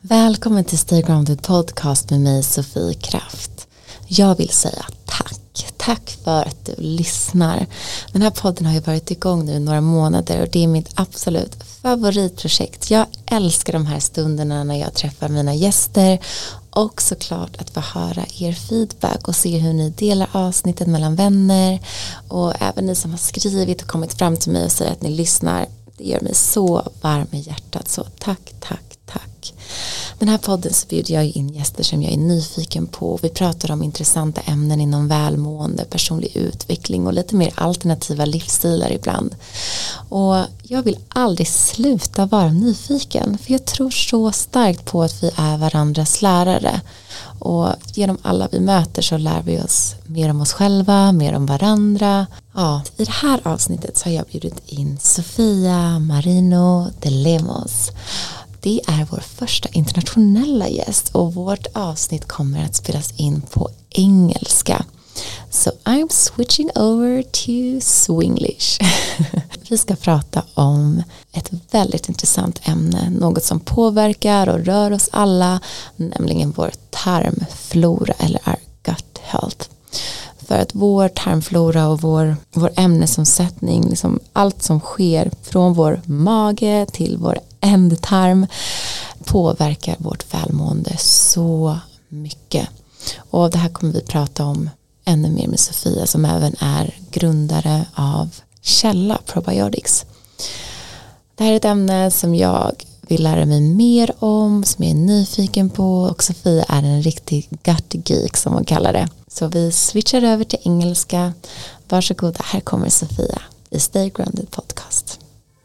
Välkommen till Stay Grounded Podcast med mig Sofie Kraft. Jag vill säga tack. Tack för att du lyssnar. Den här podden har ju varit igång nu i några månader och det är mitt absolut favoritprojekt. Jag älskar de här stunderna när jag träffar mina gäster och såklart att få höra er feedback och se hur ni delar avsnittet mellan vänner och även ni som har skrivit och kommit fram till mig och säger att ni lyssnar. Det gör mig så varm i hjärtat, så tack. Den här podden så bjuder jag in gäster som jag är nyfiken på. Vi pratar om intressanta ämnen inom välmående, personlig utveckling och lite mer alternativa livsstilar ibland. Och jag vill aldrig sluta vara nyfiken, för jag tror så starkt på att vi är varandras lärare. Och genom alla vi möter så lär vi oss mer om oss själva, mer om varandra. Ja, i det här avsnittet så har jag bjudit in Sofia Marino de Lemos. Det är vår första internationella gäst och vårt avsnitt kommer att spelas in på engelska. So I'm switching over to Swinglish. Vi ska prata om ett väldigt intressant ämne, något som påverkar och rör oss alla, nämligen vår tarmflora eller our gut health. För att vår tarmflora och vår ämnesomsättning, liksom allt som sker från vår mage till vår ändtarm påverkar vårt välmående så mycket. Och det här kommer vi prata om ännu mer med Sofia som även är grundare av Källa Probiotics. Det här är ett ämne som jag vill lära mig mer om, som jag är nyfiken på, och Sofia är en riktig gut geek som man kallar det. Så vi switchar över till engelska. Varsågoda, här kommer Sofia i Stay Grounded Podcast.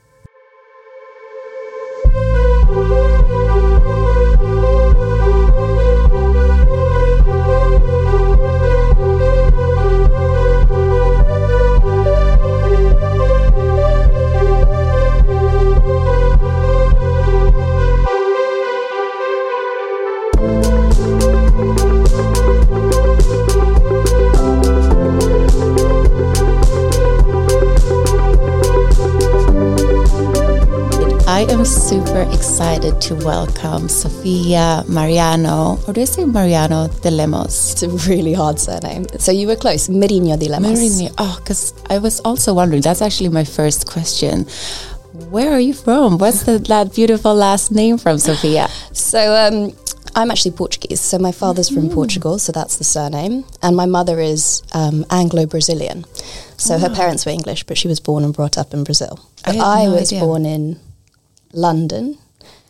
I am super excited to welcome Sofia Mariano, or do I say Mariano de Lemos? It's a really hard surname. So you were close, Marino de Lemos. Marino, because I was also wondering, that's actually my first question. Where are you from? What's that beautiful last name from, Sofia? So I'm actually Portuguese. So my father's from Portugal, so that's the surname. And my mother is Anglo-Brazilian. So her parents were English, but she was born and brought up in Brazil. But I was born in London,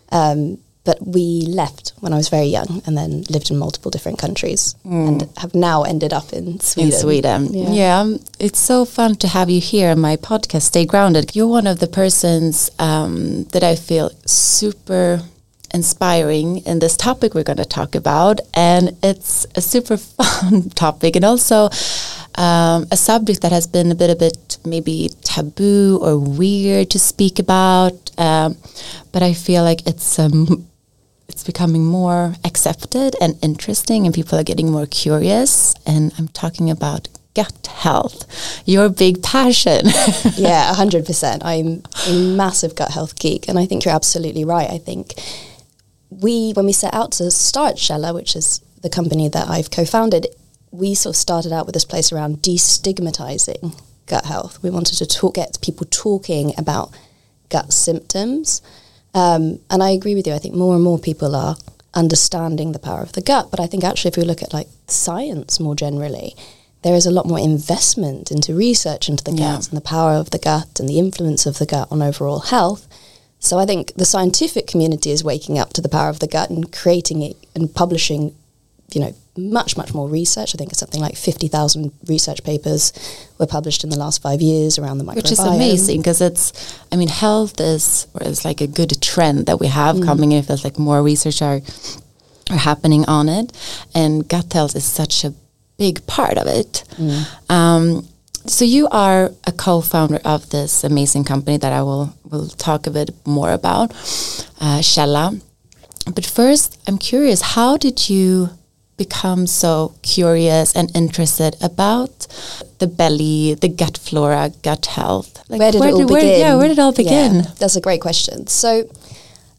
but we left when I was very young and then lived in multiple different countries and have now ended up in Sweden. In Sweden. Yeah. It's so fun to have you here on my podcast, Stay Grounded. You're one of the persons that I feel super inspiring in this topic we're going to talk about, and it's a super fun topic and also a subject that has been a bit maybe taboo or weird to speak about, but I feel like it's becoming more accepted and interesting, and people are getting more curious. And I'm talking about gut health, your big passion. Yeah, 100%. I'm a massive gut health geek, and I think you're absolutely right. I think when we set out to start Källa, which is the company that I've co-founded, we sort of started out with this place around destigmatizing gut health. We wanted to get people talking about gut symptoms. And I agree with you. I think more and more people are understanding the power of the gut. But I think actually if we look at like science more generally, there is a lot more investment into research into the gut and the power of the gut and the influence of the gut on overall health. So I think the scientific community is waking up to the power of the gut and creating it and publishing, much more research. I think it's something like 50,000 research papers were published in the last 5 years around the microbiome. Which is amazing because health is like a good trend that we have coming in. It feels like more research are happening on it, and gut health is such a big part of it. So you are a co-founder of this amazing company that I will talk a bit more about, Källa. But first, I'm curious, how did you become so curious and interested about the belly, the gut flora, gut health? Like where did it all begin? Where did it all begin? Yeah, that's a great question. So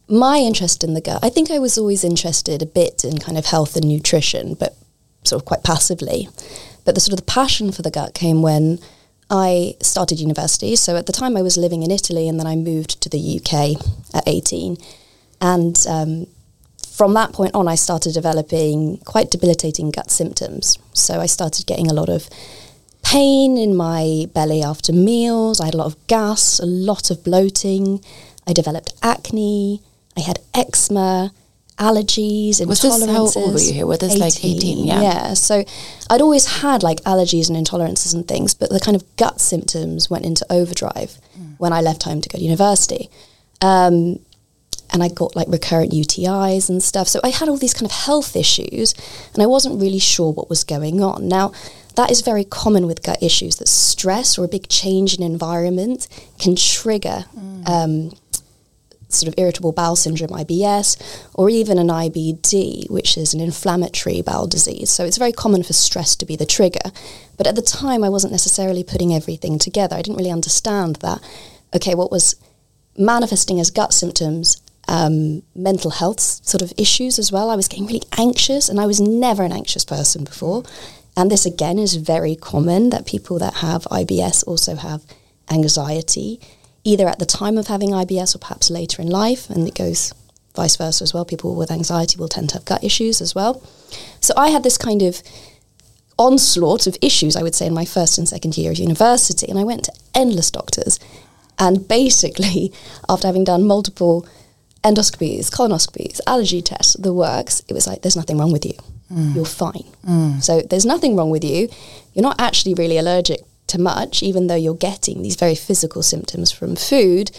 my interest in the gut, I think I was always interested a bit in kind of health and nutrition, but sort of quite passively. But the sort of the passion for the gut came when I started university. So at the time I was living in Italy, and then I moved to the UK at 18. And from that point on, I started developing quite debilitating gut symptoms. So I started getting a lot of pain in my belly after meals. I had a lot of gas, a lot of bloating. I developed acne. I had eczema, allergies, intolerances. Was this, how old were you here? Was this 18, like 18? Yeah. So I'd always had like allergies and intolerances and things, but the kind of gut symptoms went into overdrive when I left home to go to university. And I got like recurrent UTIs and stuff. So I had all these kind of health issues, and I wasn't really sure what was going on. Now, that is very common with gut issues, that stress or a big change in environment can trigger sort of irritable bowel syndrome, IBS, or even an IBD, which is an inflammatory bowel disease. So it's very common for stress to be the trigger. But at the time, I wasn't necessarily putting everything together. I didn't really understand that, okay, what was manifesting as gut symptoms, mental health sort of issues as well. I was getting really anxious, and I was never an anxious person before. And this, again, is very common, that people that have IBS also have anxiety, either at the time of having IBS or perhaps later in life, and it goes vice versa as well. People with anxiety will tend to have gut issues as well. So I had this kind of onslaught of issues, I would say, in my first and second year of university, and I went to endless doctors. And basically, after having done multiple endoscopies, colonoscopies, allergy tests, the works, it was like, there's nothing wrong with you. You're fine. So there's nothing wrong with you. You're not actually really allergic to much, even though you're getting these very physical symptoms from food.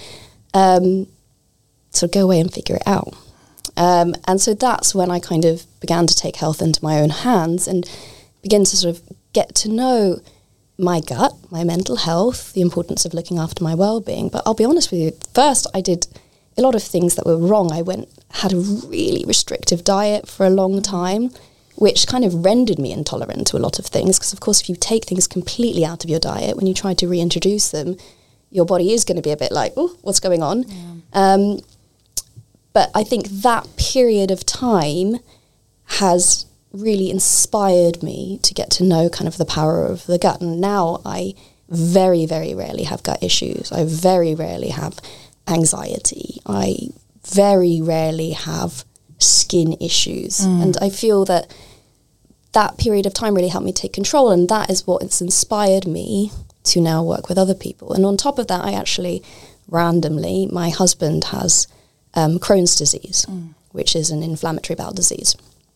So go away and figure it out. And so that's when I kind of began to take health into my own hands and begin to sort of get to know my gut, my mental health, the importance of looking after my well-being. But I'll be honest with you, first I did a lot of things that were wrong. I had a really restrictive diet for a long time, which kind of rendered me intolerant to a lot of things. Because, of course, if you take things completely out of your diet, when you try to reintroduce them, your body is going to be a bit like, oh, what's going on? Yeah. But I think that period of time has really inspired me to get to know kind of the power of the gut. And now I very, very rarely have gut issues. I very rarely have anxiety. I very rarely have skin issues. And I feel that that period of time really helped me take control, and that is what has inspired me to now work with other people. And on top of that, I actually randomly, my husband has Crohn's disease, which is an inflammatory bowel disease,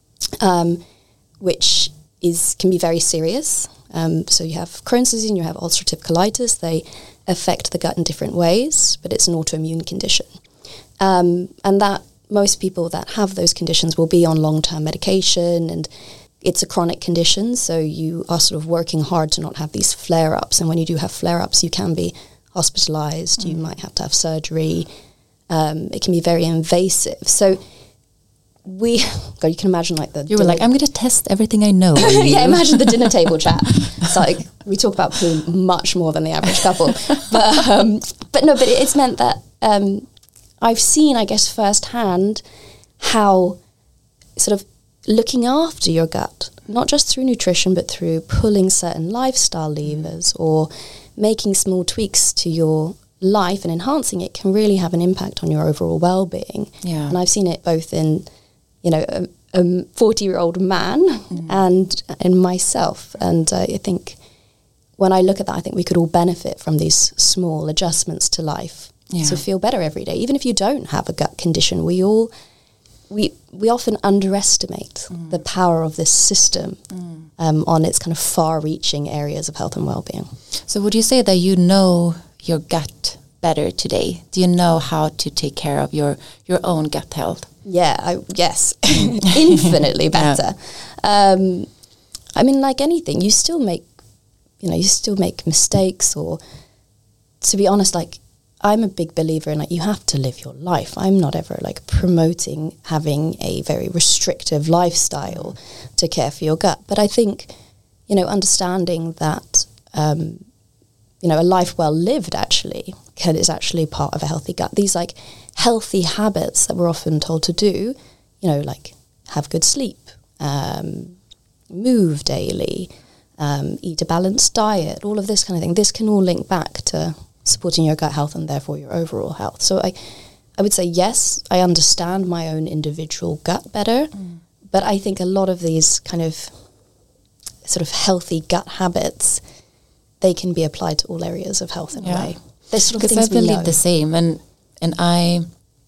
which can be very serious. So you have Crohn's disease and you have ulcerative colitis. They affect the gut in different ways, but it's an autoimmune condition. And that most people that have those conditions will be on long-term medication, and it's a chronic condition, so you are sort of working hard to not have these flare-ups. And when you do have flare-ups, you can be hospitalized, you might have to have surgery. It can be very invasive. So God, you can imagine like the... You were like, I'm going to test everything I know. Yeah, imagine the dinner table chat. It's like, we talk about poo much more than the average couple. But it's meant that I've seen, I guess, firsthand how sort of looking after your gut, not just through nutrition, but through pulling certain lifestyle levers or making small tweaks to your life and enhancing it, can really have an impact on your overall well-being. Yeah. And I've seen it both in, a 40-year-old man and in myself. And I think when I look at that, I think we could all benefit from these small adjustments to life to feel better every day. Even if you don't have a gut condition, we often underestimate the power of this system on its kind of far-reaching areas of health and well-being. So would you say that you know your gut better today? Do you know how to take care of your own gut health? Yeah, yes, infinitely better. Yeah. I mean, like anything, you still make mistakes, or to be honest, like, I'm a big believer in, like, you have to live your life. I'm not ever like promoting having a very restrictive lifestyle to care for your gut. But I think, understanding that, a life well lived actually is actually part of a healthy gut. These like healthy habits that we're often told to do, you know, like have good sleep, move daily, eat a balanced diet, all of this kind of thing. This can all link back to supporting your gut health and therefore your overall health. So I would say, yes, I understand my own individual gut better, but I think a lot of these kind of sort of healthy gut habits, they can be applied to all areas of health in a way. There's sort of things I believe the same, and I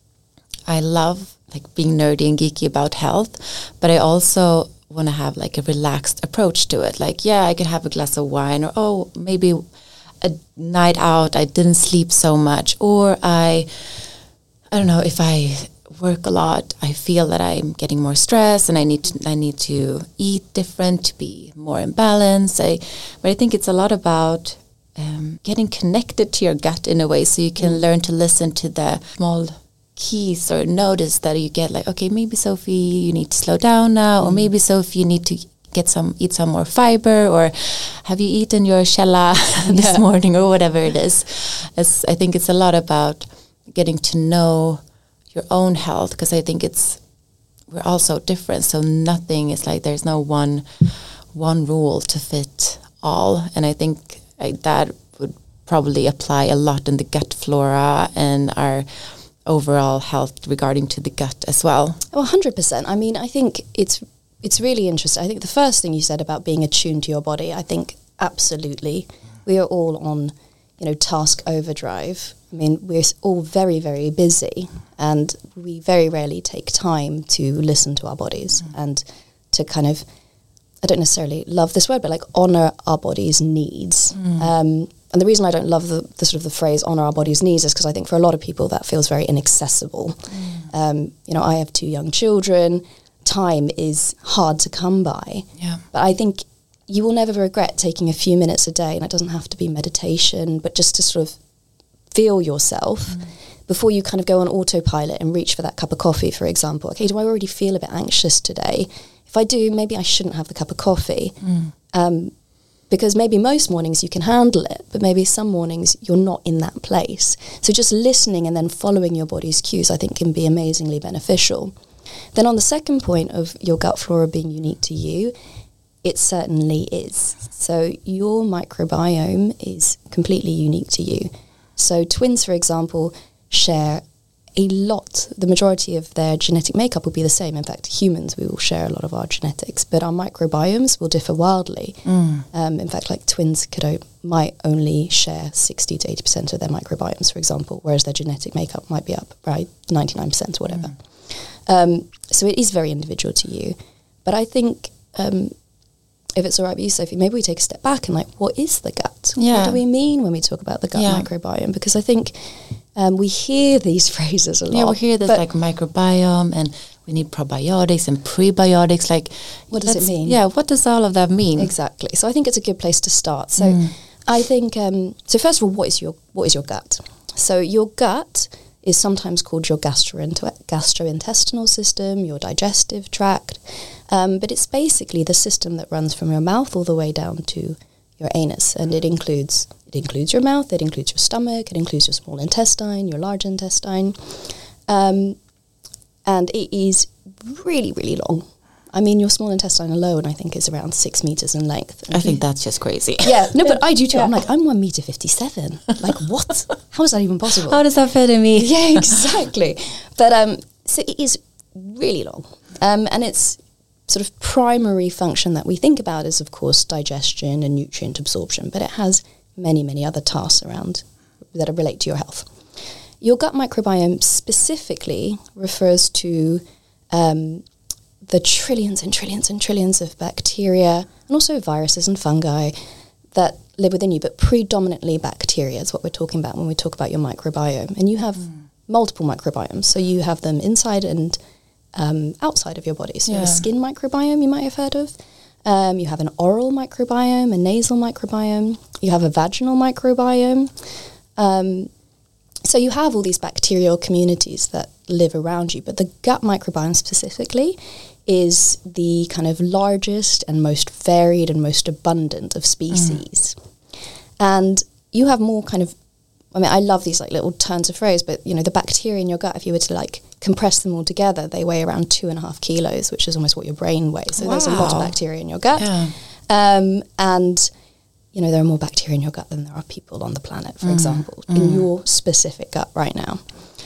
love like being nerdy and geeky about health, but I also want to have like a relaxed approach to it. Like, yeah, I could have a glass of wine, or maybe a night out, I didn't sleep so much, or I don't know, if I work a lot, I feel that I'm getting more stress and I need to eat different to be more in balance. But I think it's a lot about getting connected to your gut in a way, so you can learn to listen to the small keys or notice that you get, like, okay, maybe Sophie, you need to slow down now, or maybe Sophie, you need to eat some more fiber, or have you eaten your källa this morning, or whatever it is. I think it's a lot about getting to know your own health, because I think we're all so different, so nothing is like, there's no one rule to fit all, and I think that would probably apply a lot in the gut flora and our overall health regarding to the gut as well. Oh, 100%. I mean, I think it's really interesting. I think the first thing you said about being attuned to your body, I think absolutely we are all on, task overdrive. I mean, we're all very, very busy, and we very rarely take time to listen to our bodies and to kind of, I don't necessarily love this word, but like honor our body's needs. And the reason I don't love the sort of the phrase honor our body's needs is because I think for a lot of people that feels very inaccessible. I have 2 young children. Time is hard to come by. Yeah. But I think you will never regret taking a few minutes a day, and it doesn't have to be meditation, but just to sort of feel yourself before you kind of go on autopilot and reach for that cup of coffee, for example. Okay, do I already feel a bit anxious today? If I do, maybe I shouldn't have the cup of coffee. Because maybe most mornings you can handle it, but maybe some mornings you're not in that place. So just listening and then following your body's cues, I think, can be amazingly beneficial. Then on the second point of your gut flora being unique to you, it certainly is. So your microbiome is completely unique to you. So twins, for example, share a lot. The majority of their genetic makeup will be the same. In fact, humans, we will share a lot of our genetics, but our microbiomes will differ wildly. In fact, like twins might only share 60 to 80% of their microbiomes, for example, whereas their genetic makeup might be up by 99% or whatever. So it is very individual to you. But I think if it's all right with you, Sophie, maybe we take a step back and like, what is the gut? Yeah. What do we mean when we talk about the gut microbiome? Because I think we hear these phrases a lot. Yeah, we hear this like microbiome, and we need probiotics and prebiotics. Like, what does it mean? Yeah, what does all of that mean? Exactly. So I think it's a good place to start. So I think, so first of all, what is your gut? So your gut is sometimes called your gastrointestinal system, your digestive tract, but it's basically the system that runs from your mouth all the way down to your anus, and it includes your mouth, it includes your stomach, it includes your small intestine, your large intestine, and it is really, really long. I mean, your small intestine alone, I think, is around 6 meters in length. I think that's just crazy. Yeah, no, but I do too. I'm like, I'm 1.57 meter. Like, what? How is that even possible? How does that fit in me? Yeah, exactly. But so it is really long, and its sort of primary function that we think about is, of course, digestion and nutrient absorption. But it has many, many other tasks around that relate to your health. Your gut microbiome specifically refers to the trillions and trillions and trillions of bacteria and also viruses and fungi that live within you, but predominantly bacteria is what we're talking about when we talk about your microbiome. And you have multiple microbiomes. So you have them inside and outside of your body. So you have a skin microbiome you might have heard of. You have an oral microbiome, a nasal microbiome. You have a vaginal microbiome. So you have all these bacterial communities that live around you, but the gut microbiome specifically is the kind of largest and most varied and most abundant of species. And you have more kind of, I mean, I love these like little turns of phrase, but, you know, the bacteria in your gut, if you were to like compress them all together, they weigh around 2.5 kilos, which is almost what your brain weighs. So there's a lot of bacteria in your gut. Yeah. And, you know, there are more bacteria in your gut than there are people on the planet, for example, in your specific gut right now.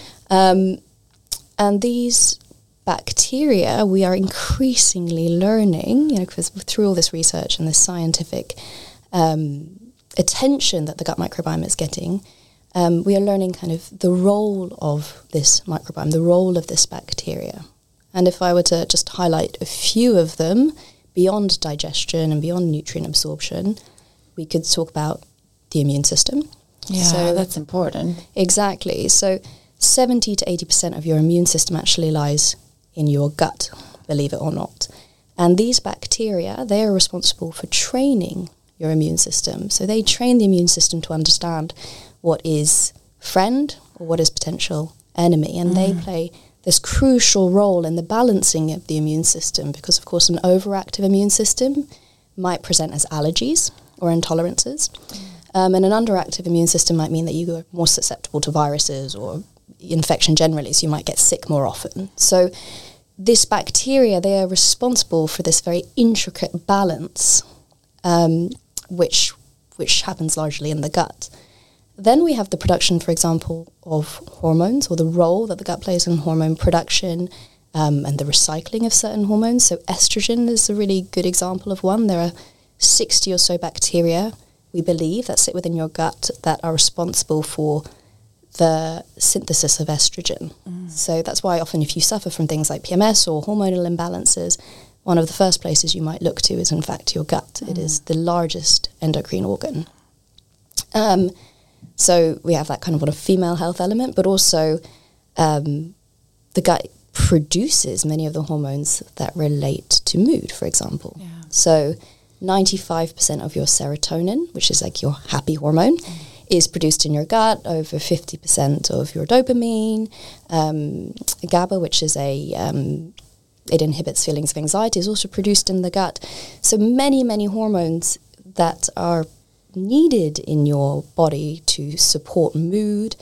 And these bacteria, we are increasingly learning, you know, because through all this research and this scientific attention that the gut microbiome is getting, we are learning kind of the role of this microbiome, the role of this bacteria. And if I were to just highlight a few of them, beyond digestion and beyond nutrient absorption, we could talk about the immune system. Yeah, so that's important. Exactly. So 70 to 80% of your immune system actually lies in your gut, believe it or not. And these bacteria, they are responsible for training your immune system. So they train the immune system to understand what is friend or what is potential enemy. And they play this crucial role in the balancing of the immune system because, of course, an overactive immune system might present as allergies or intolerances. And an underactive immune system might mean that you are more susceptible to viruses or infection generally, so you might get sick more often. So this bacteria, they are responsible for this very intricate balance, which happens largely in the gut. Then we have the production, for example, of hormones, or the role that the gut plays in hormone production, and the recycling of certain hormones. So estrogen is a really good example of one. There are 60 or so bacteria, we believe, that sit within your gut that are responsible for the synthesis of estrogen. So that's why often if you suffer from things like PMS or hormonal imbalances, one of the first places you might look to is in fact your gut. It is the largest endocrine organ. So we have that kind of female health element, but also the gut produces many of the hormones that relate to mood, for example. Yeah. So 95% of your serotonin, which is like your happy hormone, is produced in your gut. Over 50% of your dopamine, GABA, which is it inhibits feelings of anxiety, is also produced in the gut. So many hormones that are needed in your body to support mood,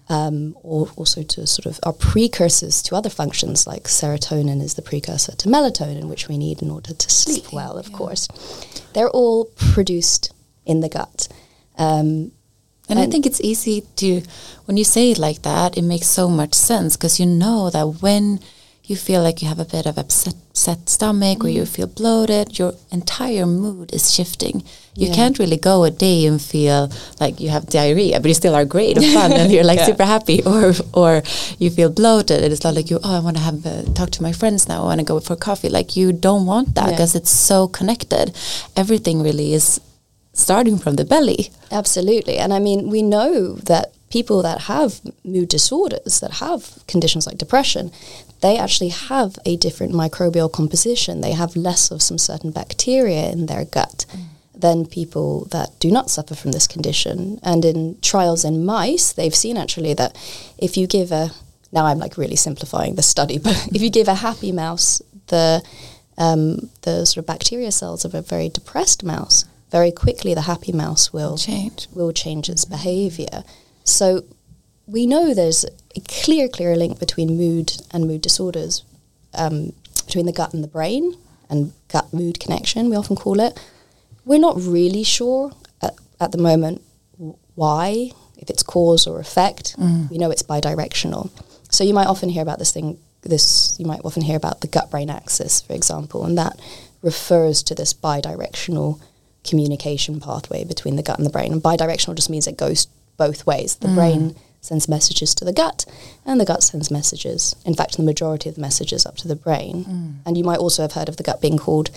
or also to sort of are precursors to other functions, like serotonin is the precursor to melatonin, which we need in order to sleep well, of course. They're all produced in the gut. And I think it's easy to, when you say it like that, it makes so much sense, because you know that when you feel like you have a bit of upset stomach or you feel bloated, your entire mood is shifting. You can't really go a day and feel like you have diarrhea, but you still are great and fun and you're like super happy, or you feel bloated and it's not like I want to have talk to my friends now, I want to go for coffee. Like, you don't want that because it's so connected. Everything really is starting from the belly. Absolutely. And I mean, we know that people that have mood disorders, that have conditions like depression, they actually have a different microbial composition. They have less of some certain bacteria in their gut than people that do not suffer from this condition. And in trials in mice, they've seen actually that if you give now I'm like really simplifying the study, but if you give a happy mouse the sort of bacteria cells of a very depressed mouse, very quickly the happy mouse will change its behavior. So we know there's a clear link between mood and mood disorders, between the gut and the brain, and gut-mood connection, we often call it. We're not really sure at the moment why, if it's cause or effect. We know it's bidirectional. So you might often hear about you might often hear about the gut-brain axis, for example, and that refers to this bidirectional communication pathway between the gut and the brain. And bidirectional just means it goes both ways. The brain sends messages to the gut, and the gut sends messages, in fact, the majority of the messages up to the brain. And you might also have heard of the gut being called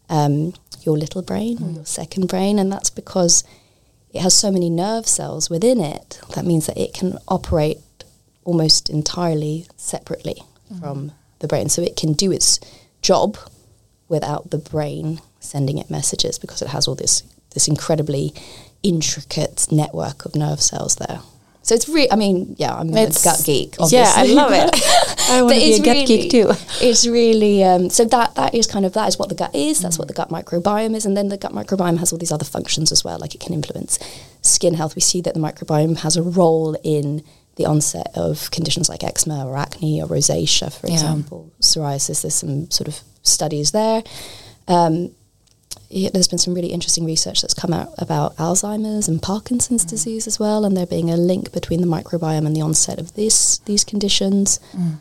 your little brain or your second brain, and that's because it has so many nerve cells within it. That means that it can operate almost entirely separately from the brain. So it can do its job without the brain sending it messages, because it has all this incredibly intricate network of nerve cells there. So it's really, I'm a gut geek, obviously. Yeah, I love it. I want to be a gut geek too. It's really so that is what the gut is. That's what the gut microbiome is, and then the gut microbiome has all these other functions as well. Like it can influence skin health. We see that the microbiome has a role in the onset of conditions like eczema or acne or rosacea, for example, psoriasis. There's some sort of studies there. There's been some really interesting research that's come out about Alzheimer's and Parkinson's disease as well, and there being a link between the microbiome and the onset of these conditions.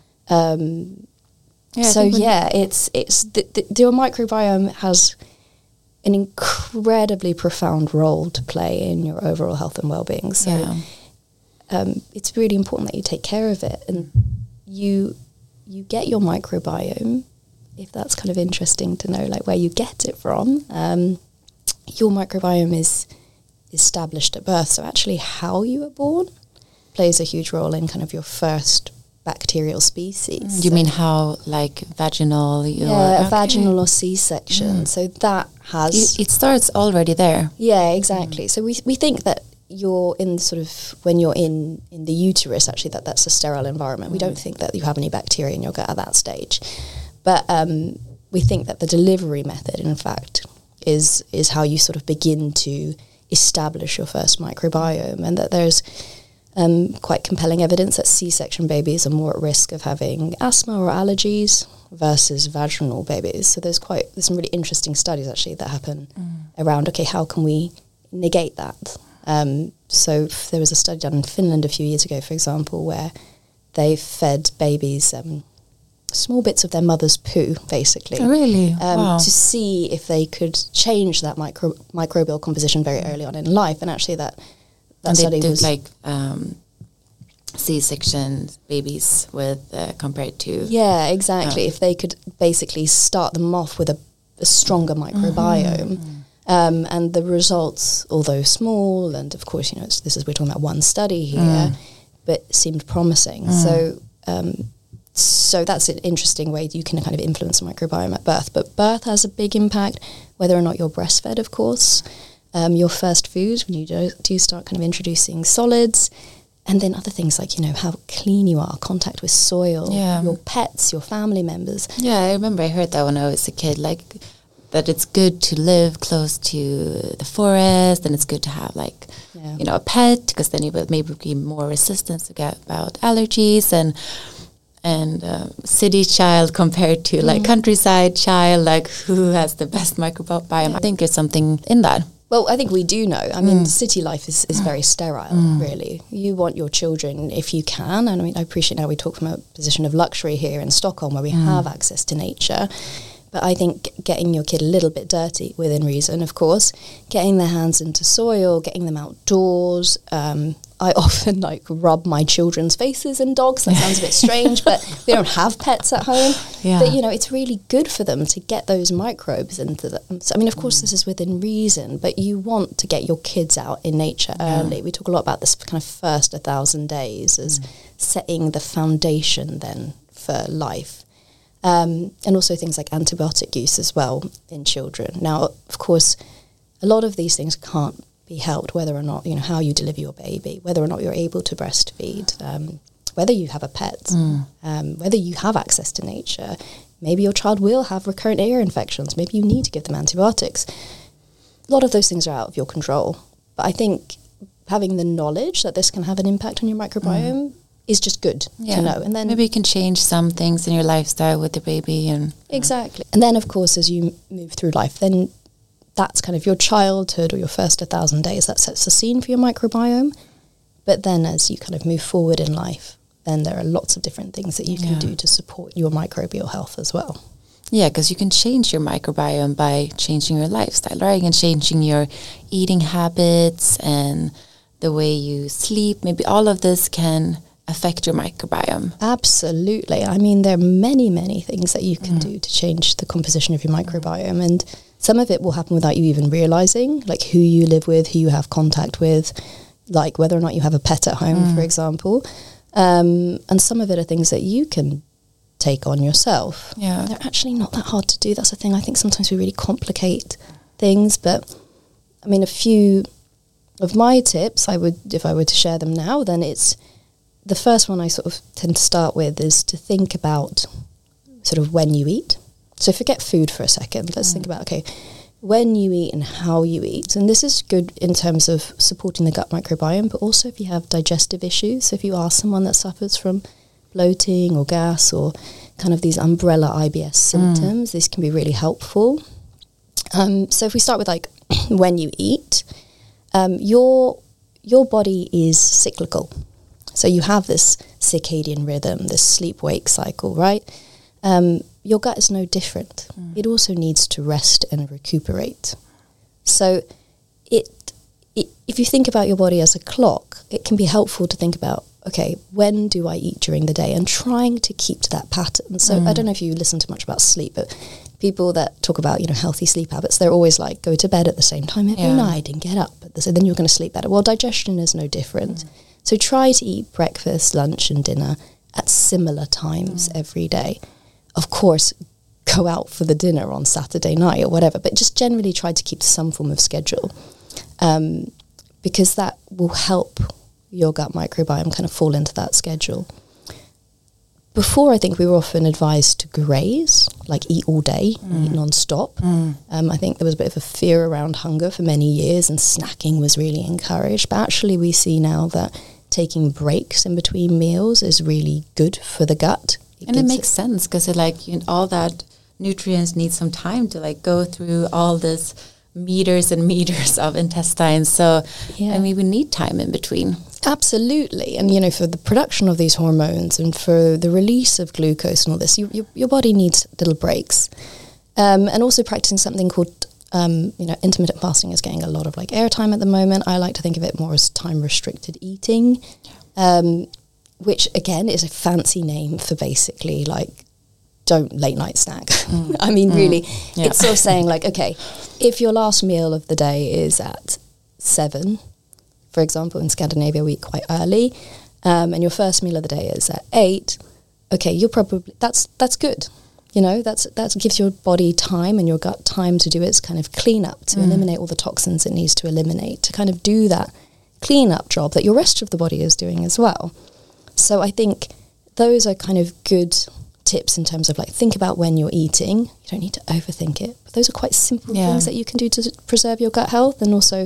It's the microbiome has an incredibly profound role to play in your overall health and well-being. So it's really important that you take care of it, and you get your microbiome. If that's kind of interesting to know, like where you get it from, your microbiome is established at birth. So actually how you were born plays a huge role in kind of your first bacterial species. You mean how, like vaginal? Vaginal or C-section. So that has... It starts already there. Yeah, exactly. So we think that you're in sort of, when you're in the uterus, actually, that's a sterile environment. We don't think that you have any bacteria in your gut at that stage. But we think that the delivery method, in fact, is how you sort of begin to establish your first microbiome, and that there's quite compelling evidence that C-section babies are more at risk of having asthma or allergies versus vaginal babies. So there's some really interesting studies, actually, that happen around, okay, how can we negate that? So there was a study done in Finland a few years ago, for example, where they fed babies... small bits of their mother's poo, basically. Oh, really? Wow. To see if they could change that microbial composition very early on in life. And actually that study was... like C-section babies with compared to... Yeah, exactly. If they could basically start them off with a stronger microbiome. And the results, although small, and of course, we're talking about one study here, but seemed promising. So that's an interesting way you can kind of influence the microbiome at birth. But birth has a big impact, whether or not you're breastfed, of course. Your first food, when you do start kind of introducing solids, and then other things like, how clean you are, contact with soil, your pets, your family members. Yeah, I remember I heard that when I was a kid, like that it's good to live close to the forest, and it's good to have like, a pet, because then you will maybe be more resistant to get about allergies and city child compared to like countryside child, like who has the best microbiome. I think there's something in that. Well, I think we do know. I mean, city life is very sterile, really. You want your children, if you can, and I mean, I appreciate now we talk from a position of luxury here in Stockholm where we have access to nature. But I think getting your kid a little bit dirty, within reason, of course, getting their hands into soil, getting them outdoors. I often rub my children's faces in dogs. That sounds a bit strange, but we don't have pets at home. Yeah. But, it's really good for them to get those microbes into them. So, I mean, of course, this is within reason, but you want to get your kids out in nature early. We talk a lot about this kind of first 1,000 days as setting the foundation then for life. And also things like antibiotic use as well in children. Now, of course, a lot of these things can't be helped, whether or not, how you deliver your baby, whether or not you're able to breastfeed, whether you have a pet, whether you have access to nature. Maybe your child will have recurrent ear infections. Maybe you need to give them antibiotics. A lot of those things are out of your control. But I think having the knowledge that this can have an impact on your microbiome is just good to know. And then maybe you can change some things in your lifestyle with the baby. And exactly. And then, of course, as you move through life, then that's kind of your childhood or your first 1,000 days. That sets the scene for your microbiome. But then as you kind of move forward in life, then there are lots of different things that you can do to support your microbial health as well. Yeah, because you can change your microbiome by changing your lifestyle, right? And changing your eating habits and the way you sleep. Maybe all of this can affect your microbiome. Absolutely. I mean, there are many, many things that you can do to change the composition of your microbiome. And some of it will happen without you even realizing, like who you live with, who you have contact with, like whether or not you have a pet at home, for example. And some of it are things that you can take on yourself. Yeah. They're actually not that hard to do. That's the thing. I think sometimes we really complicate things. But, I mean, a few of my tips, if I were to share them now, then it's the first one I sort of tend to start with is to think about sort of when you eat. So forget food for a second. Let's think about, okay, when you eat and how you eat. And this is good in terms of supporting the gut microbiome, but also if you have digestive issues. So if you are someone that suffers from bloating or gas or kind of these umbrella IBS symptoms, this can be really helpful. So if we start with like when you eat, your body is cyclical. So you have this circadian rhythm, this sleep-wake cycle, right? Your gut is no different. It also needs to rest and recuperate. So if you think about your body as a clock, it can be helpful to think about, okay, when do I eat during the day? And trying to keep to that pattern. So I don't know if you listen to much about sleep, but people that talk about, healthy sleep habits, they're always like, go to bed at the same time every night and get up. So then you're going to sleep better. Well, digestion is no different. So try to eat breakfast, lunch and dinner at similar times every day. Of course, go out for the dinner on Saturday night or whatever, but just generally try to keep some form of schedule, because that will help your gut microbiome kind of fall into that schedule. Before, I think we were often advised to graze, like eat all day, eat non-stop. I think there was a bit of a fear around hunger for many years, and snacking was really encouraged. But actually we see now that taking breaks in between meals is really good for the gut. It makes sense because all that nutrients need some time to like go through all this meters and meters of intestines. So, we need time in between. Absolutely. And, for the production of these hormones and for the release of glucose and all this, your body needs little breaks. And also practicing something called, intermittent fasting is getting a lot of airtime at the moment. I like to think of it more as time-restricted eating, which, again, is a fancy name for basically, don't late night snack. I mean, really, it's sort of saying, okay, if your last meal of the day is at 7, for example, in Scandinavia, we eat quite early, and your first meal of the day is at 8, okay, you're probably, that's good. That gives your body time and your gut time to do its kind of cleanup, to eliminate all the toxins it needs to eliminate, to kind of do that cleanup job that your rest of the body is doing as well. So I think those are kind of good tips in terms of think about when you're eating. You don't need to overthink it, but those are quite simple things that you can do to preserve your gut health, and also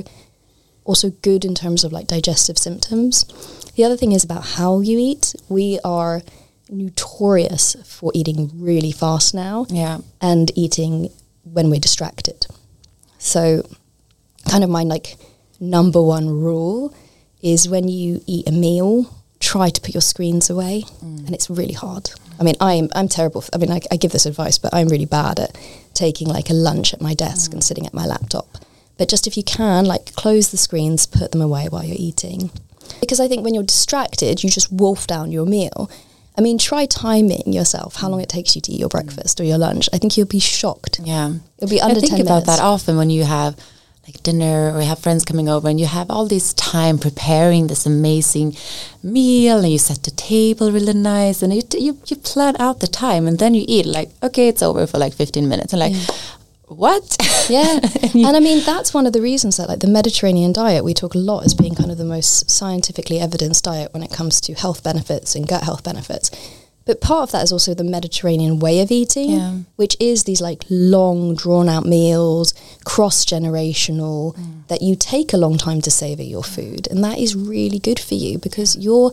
good in terms of digestive symptoms. The other thing is about how you eat. We are notorious for eating really fast now, and eating when we're distracted. So kind of my number one rule is when you eat a meal, try to put your screens away, and it's really hard. I mean, I'm terrible. I give this advice, but I'm really bad at taking a lunch at my desk and sitting at my laptop. But just if you can, close the screens, put them away while you're eating. Because I think when you're distracted, you just wolf down your meal. I mean, try timing yourself, how long it takes you to eat your breakfast or your lunch. I think you'll be shocked. Yeah. It'll be under 10 minutes. I think about that often when you have dinner or you have friends coming over and you have all this time preparing this amazing meal, and you set the table really nice, and you plan out the time, and then you eat okay, it's over for 15 minutes, and what? Yeah. And I mean, that's one of the reasons that the Mediterranean diet, we talk a lot as being kind of the most scientifically evidenced diet when it comes to health benefits and gut health benefits. But part of that is also the Mediterranean way of eating, which is these long, drawn-out meals, cross-generational, that you take a long time to savour your food. And that is really good for you, because your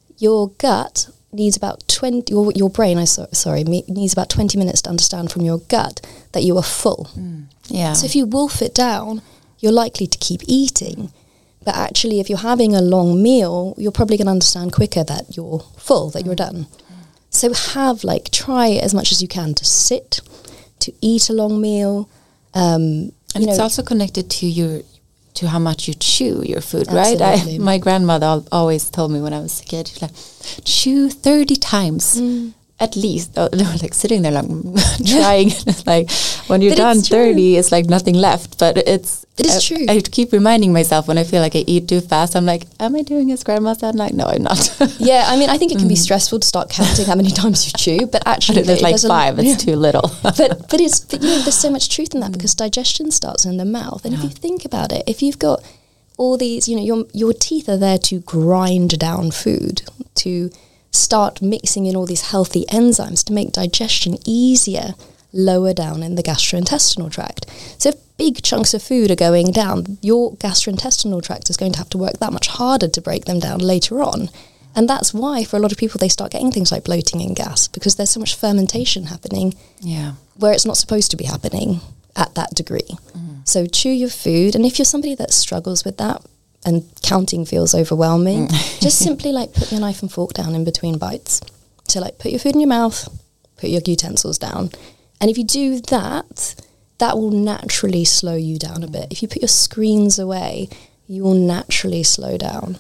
gut needs about 20, your brain, needs about 20 minutes to understand from your gut that you are full. So if you wolf it down, you're likely to keep eating. But actually, if you're having a long meal, you're probably going to understand quicker that you're full, that you're done. So try as much as you can to sit, to eat a long meal. And it's also connected to how much you chew your food, Absolutely. right? My grandmother always told me when I was a kid, she's chew 30 times. At least, sitting there trying, when you're done 30, it's nothing left. But it is true. I keep reminding myself when I feel I eat too fast. I'm am I doing as grandma said? No, I'm not. Yeah, I mean, I think it can be stressful to start counting how many times you chew. But actually, there's 5. It's too little. but there's so much truth in that, because digestion starts in the mouth. And if you think about it, if you've got all these, your teeth are there to grind down food, to start mixing in all these healthy enzymes to make digestion easier lower down in the gastrointestinal tract. So if big chunks of food are going down, your gastrointestinal tract is going to have to work that much harder to break them down later on. And that's why for a lot of people they start getting things like bloating and gas, because there's so much fermentation happening where it's not supposed to be happening at that degree. So chew your food, and if you're somebody that struggles with that and counting feels overwhelming, just simply like put your knife and fork down in between bites. So like put your food in your mouth, put your utensils down. And if you do that, that will naturally slow you down a bit. If you put your screens away, you will naturally slow down.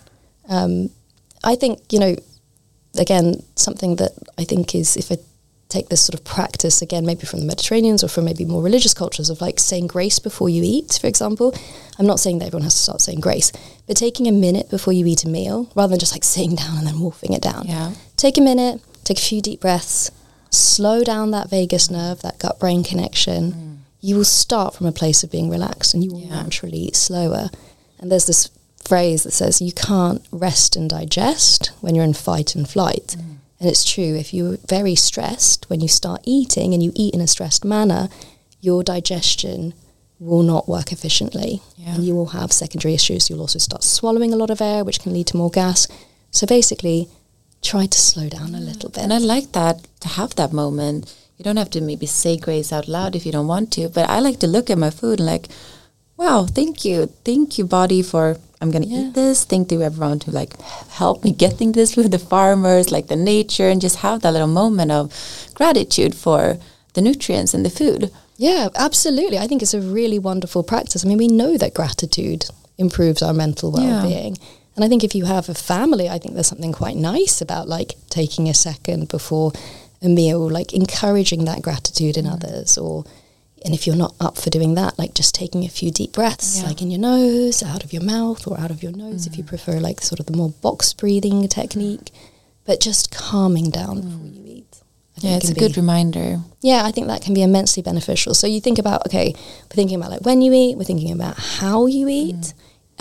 I think, again, something that I think is, if I take this sort of practice, again, maybe from the Mediterraneans or from maybe more religious cultures of like saying grace before you eat, for example. I'm not saying that everyone has to start saying grace, but taking a minute before you eat a meal, rather than just like sitting down and then wolfing it down. Yeah. Take a minute, take a few deep breaths, slow down that vagus nerve, that gut-brain connection. You will start from a place of being relaxed and you will naturally eat slower. And there's this phrase that says you can't rest and digest when you're in fight and flight. And it's true, if you're very stressed, when you start eating and you eat in a stressed manner, your digestion will not work efficiently. And you will have secondary issues. You'll also start swallowing a lot of air, which can lead to more gas. So basically, try to slow down a little bit. And I like that, to have that moment. You don't have to maybe say grace out loud if you don't want to, but I like to look at my food and like, wow, thank you body for, I'm going to eat this. Thank you everyone to like help me getting this food, the farmers, like the nature, and just have that little moment of gratitude for the nutrients in the food. Yeah, absolutely. I think it's a really wonderful practice. I mean, we know that gratitude improves our mental well-being. And I think if you have a family, I think there's something quite nice about like taking a second before a meal, like encouraging that gratitude in others, and if you're not up for doing that, like just taking a few deep breaths, like in your nose, out of your mouth, or out of your nose if you prefer like sort of the more box breathing technique, but just calming down before you eat. It's a good reminder. Yeah, I think that can be immensely beneficial. So you think about, we're thinking about like when you eat, we're thinking about how you eat,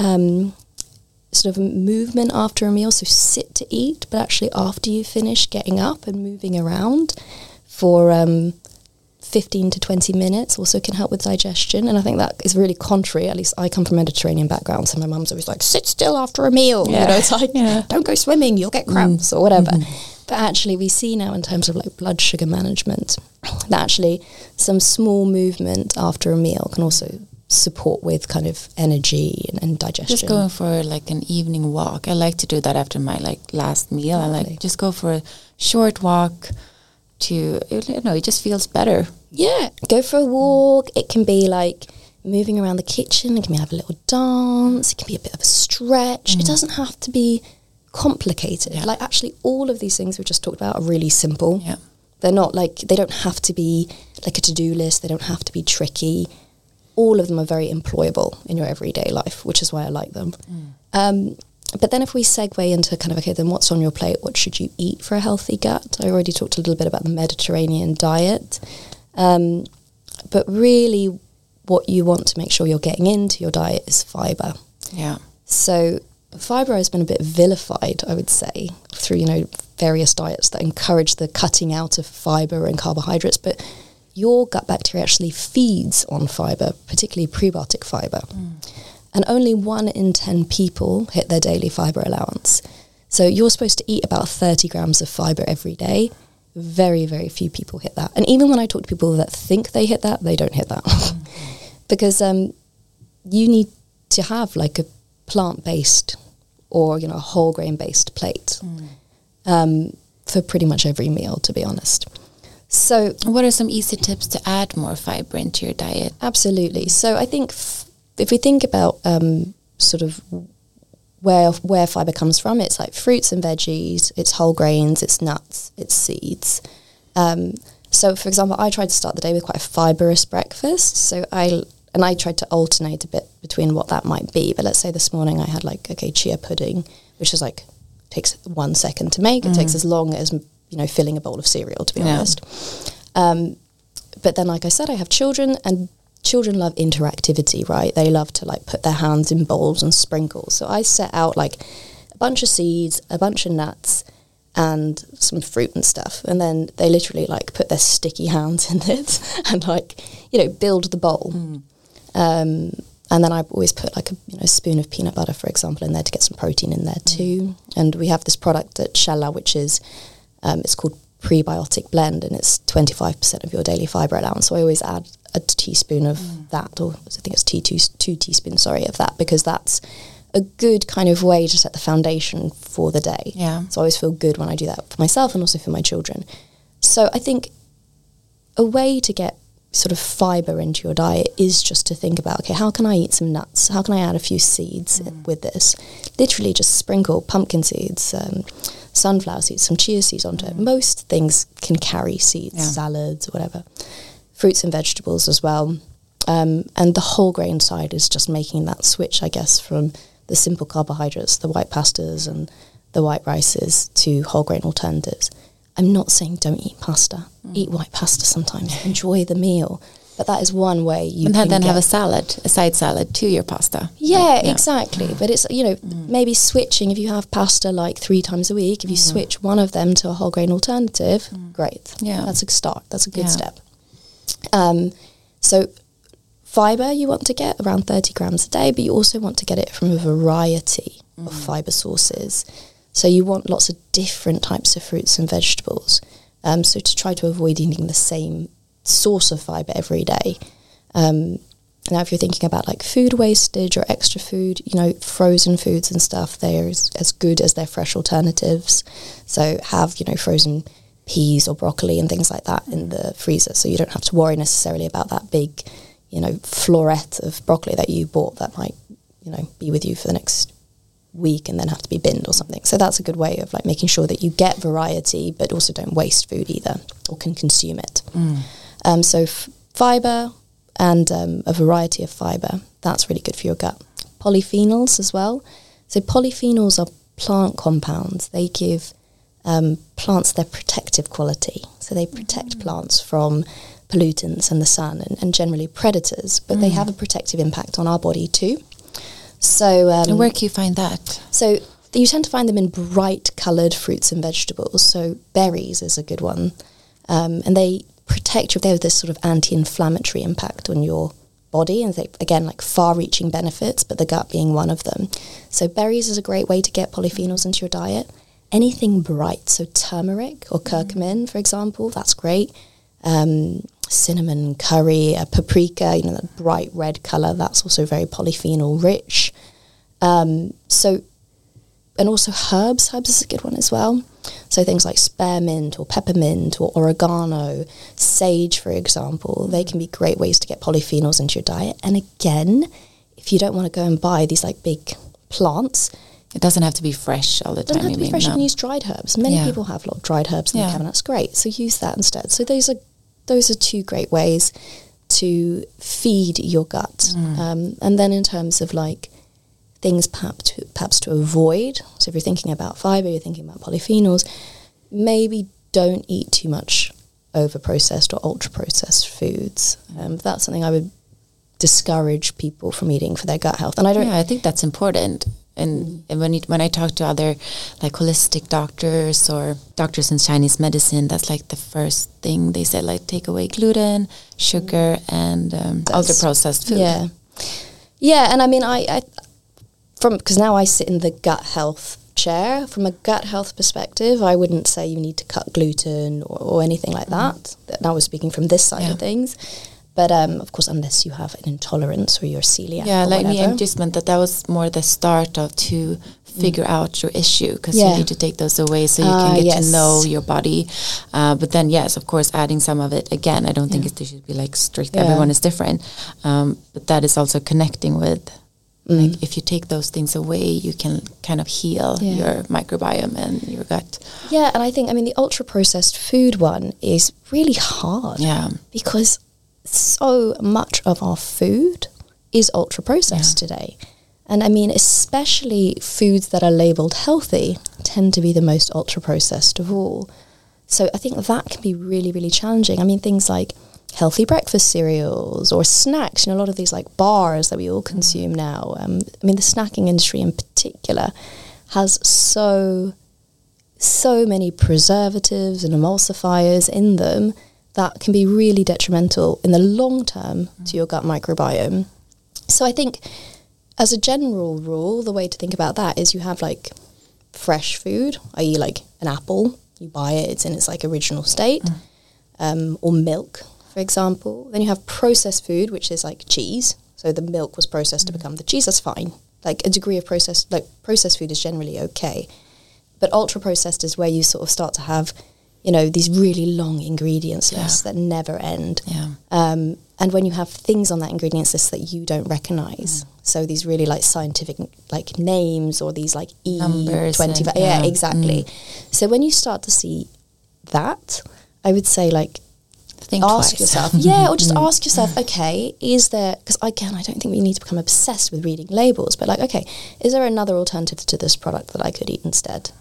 sort of movement after a meal, so sit to eat, but actually after you finish, getting up and moving around for 15 to 20 minutes also can help with digestion. And I think that is really contrary. At least I come from a Mediterranean background, so my mum's always like, sit still after a meal. It's like, don't go swimming, you'll get cramps or whatever. But actually we see now in terms of like blood sugar management that actually some small movement after a meal can also support with kind of energy and digestion. Just going for like an evening walk. I like to do that after my like last meal. I like just go for a short walk to, it just feels better. Yeah, go for a walk. It can be like moving around the kitchen. It can be have a little dance. It can be a bit of a stretch. It doesn't have to be complicated. Yeah. Like actually all of these things we've just talked about are really simple. Yeah. They're not like, they don't have to be like a to-do list. They don't have to be tricky. All of them are very employable in your everyday life, which is why I like them. But then if we segue into kind of, then what's on your plate? What should you eat for a healthy gut? I already talked a little bit about the Mediterranean diet. But really what you want to make sure you're getting into your diet is fibre. Yeah. So fibre has been a bit vilified, I would say, through, various diets that encourage the cutting out of fibre and carbohydrates. But your gut bacteria actually feeds on fibre, particularly prebiotic fibre. And only 1 in 10 people hit their daily fibre allowance. So you're supposed to eat about 30 grams of fibre every day. Very, very few people hit that. And even when I talk to people that think they hit that, they don't hit that. Because you need to have like a plant-based or, a whole grain-based plate for pretty much every meal, to be honest. So what are some easy tips to add more fibre into your diet? Absolutely. So I think if we think about sort of where fibre comes from, it's like fruits and veggies, it's whole grains, it's nuts, it's seeds. So, for example, I tried to start the day with quite a fibrous breakfast. So I tried to alternate a bit between what that might be. But let's say this morning I had chia pudding, which is takes 1 second to make. It takes as long as, filling a bowl of cereal, to be honest. But then, like I said, I have children, and children love interactivity, right? They love to like put their hands in bowls and sprinkle. So I set out like a bunch of seeds, a bunch of nuts, and some fruit and stuff. And then they literally like put their sticky hands in it and like, build the bowl. And then I always put like a spoon of peanut butter, for example, in there to get some protein in there too. And we have this product at Källa, which is, it's called Prebiotic Blend, and it's 25% of your daily fibre allowance. So I always add a teaspoon of that, or I think it's two teaspoons, of that, because that's a good kind of way to set the foundation for the day. Yeah. So I always feel good when I do that for myself and also for my children. So I think a way to get sort of fibre into your diet is just to think about, okay, how can I eat some nuts? How can I add a few seeds with this? Literally just sprinkle pumpkin seeds, sunflower seeds, some chia seeds onto it. Most things can carry seeds, salads, or whatever. Fruits and vegetables as well. And the whole grain side is just making that switch, I guess, from the simple carbohydrates, the white pastas and the white rices, to whole grain alternatives. I'm not saying don't eat pasta. Eat white pasta sometimes. Enjoy the meal. But that is one way you can then have a side salad to your pasta. Yeah, exactly. But it's, maybe switching, if you have pasta like 3 times a week, if you switch one of them to a whole grain alternative, great. Yeah. That's a start. That's a good step. So fibre you want to get around 30 grams a day, but you also want to get it from a variety of fibre sources. So you want lots of different types of fruits and vegetables. So to try to avoid eating the same source of fibre every day. Now, if you're thinking about like food wastage or extra food, frozen foods and stuff, they're as good as their fresh alternatives. So have, frozen peas or broccoli and things like that in the freezer. So you don't have to worry necessarily about that big, floret of broccoli that you bought that might, be with you for the next week and then have to be binned or something. So that's a good way of like making sure that you get variety but also don't waste food either, or can consume it. So fibre and a variety of fibre, that's really good for your gut. Polyphenols as well. So polyphenols are plant compounds. They give plants their protective quality. So they protect plants from pollutants and the sun and generally predators, but they have a protective impact on our body too. So, and where can you find that? So you tend to find them in bright coloured fruits and vegetables. So berries is a good one. And they protect you. They have this sort of anti-inflammatory impact on your body. And they, again, like far-reaching benefits, but the gut being one of them. So berries is a great way to get polyphenols into your diet. Anything bright, so turmeric or curcumin, for example, that's great. Cinnamon, curry, paprika, that bright red colour, that's also very polyphenol rich. And also herbs is a good one as well. So things like spearmint or peppermint or oregano, sage, for example, they can be great ways to get polyphenols into your diet. And again, if you don't want to go and buy these like big plants, it doesn't have to be fresh all the time. It doesn't have to be fresh. You can use dried herbs. Many people have a lot of dried herbs in their cabinets. Great. So use that instead. So those are 2 great ways to feed your gut. And then in terms of like things perhaps to avoid, so if you're thinking about fibre, you're thinking about polyphenols, maybe don't eat too much over-processed or ultra-processed foods. That's something I would discourage people from eating for their gut health. And I think that's important. And when I talk to other like holistic doctors or doctors in Chinese medicine, that's like the first thing they said, like take away gluten, sugar, and ultra-processed food. Yeah. And I mean, because now I sit in the gut health chair. From a gut health perspective, I wouldn't say you need to cut gluten or anything like that. Now we're speaking from this side of things. But of course, unless you have an intolerance or you're celiac. Yeah, or like whatever. me, I just meant that was more the start of to figure out your issue, because you need to take those away so you can get to know your body. But then, yes, of course, adding some of it again. I don't think there should be like strict. Everyone is different, but that is also connecting with. Like if you take those things away, you can kind of heal your microbiome and your gut. Yeah, and I think the ultra processed food one is really hard. Yeah, because so much of our food is ultra processed today. And especially foods that are labeled healthy tend to be the most ultra processed of all. So I think that can be really, really challenging. Things like healthy breakfast cereals or snacks. You know, a lot of these like bars that we all consume now. I mean, the snacking industry in particular has so many preservatives and emulsifiers in them that can be really detrimental in the long term to your gut microbiome. So I think as a general rule, the way to think about that is you have like fresh food, i.e. like an apple, you buy it, it's in its like original state, or milk, for example. Then you have processed food, which is like cheese. So the milk was processed to become the cheese, that's fine. Like a degree of processed food is generally okay. But ultra-processed is where you sort of start to have, you know, these really long ingredients lists that never end. Yeah. And when you have things on that ingredients list that you don't recognize, so these really like scientific like names or these like E25, exactly. So when you start to see that, I would say like, think ask twice. yourself, or just ask yourself, okay, is there, because again, I don't think we need to become obsessed with reading labels, but like, okay, is there another alternative to this product that I could eat instead?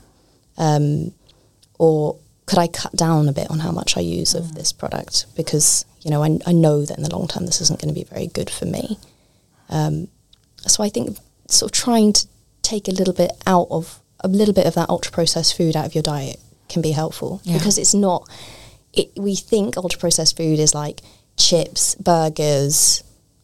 Or could I cut down a bit on how much I use of this product? Because, you know, I know that in the long term, this isn't going to be very good for me. So I think sort of trying to take a little bit of that ultra processed food out of your diet can be helpful, because it's not, we think ultra processed food is like chips, burgers,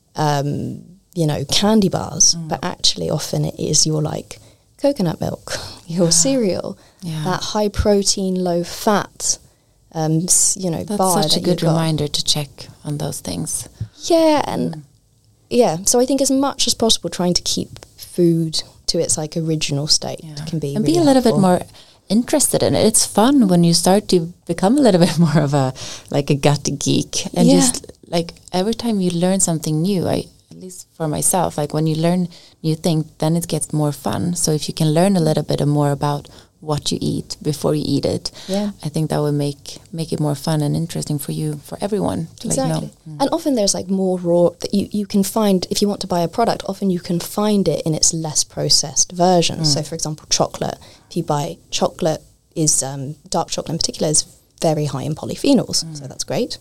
you know, candy bars, but actually often it is your like coconut milk, your cereal, that high protein, low fat, you know, that's bar. Such a good reminder to check on those things. Yeah, and so I think as much as possible trying to keep food to its like original state can be, and really be a little helpful. bit more interested in it. It's fun when you start to become a little bit more of a gut geek, and just like every time you learn something new, at least for myself, like when you learn new things, then it gets more fun. So if you can learn a little bit more about what you eat before you eat it, I think that will make it more fun and interesting for you, for everyone to like know. And often there's like more raw that you can find. If you want to buy a product, often you can find it in its less processed version. So for example, chocolate, if you buy chocolate, is dark chocolate in particular is very high in polyphenols, so that's great.